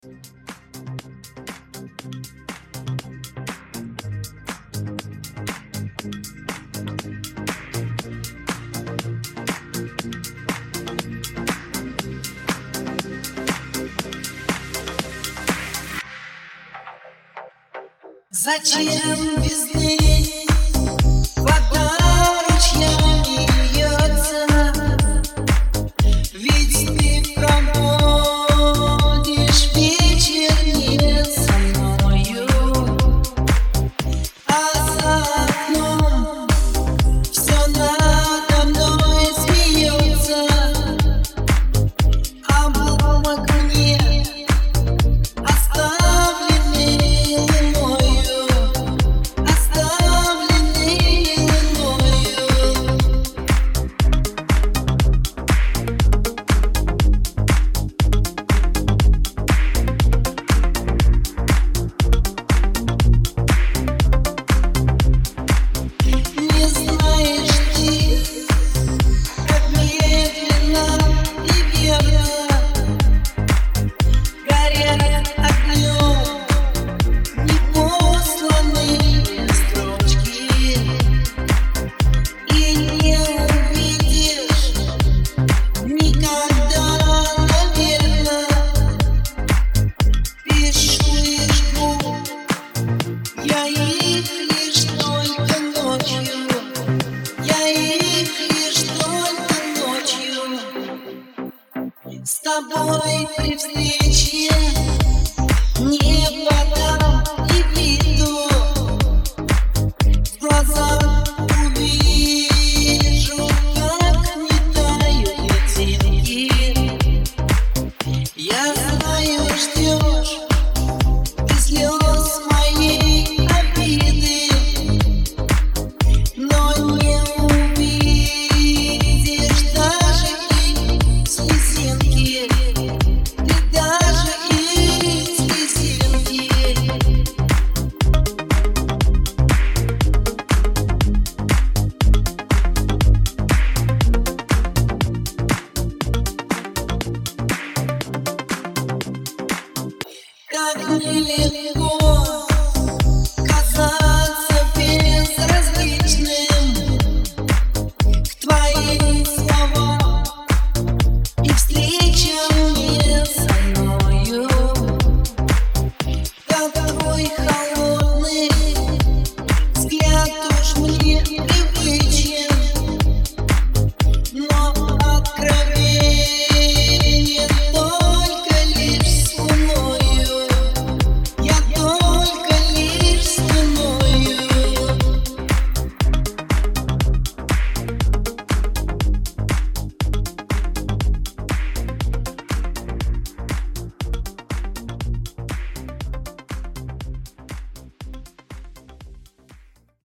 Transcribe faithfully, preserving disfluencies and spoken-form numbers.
Зачем весны вода ручьями льется? Ведь ты проводишь вечер не со мною, а за окном все надо мной смеется. А в окне оставленный луною, оставленный луною. Не знаешь ты, как медленно и верно горят огнем непосланные строчки, и не увидишь никогда, наверно. Пишу и жгу я их лишь только ночью, я их лишь только ночью. С тобой при встрече не подам и виду, в глазах увижу, как не тают льдинки. Я знаю, ждешь ты слез моей обиды, но не увидишь даже их слезинки, ты даже их слезинки. Как нелегко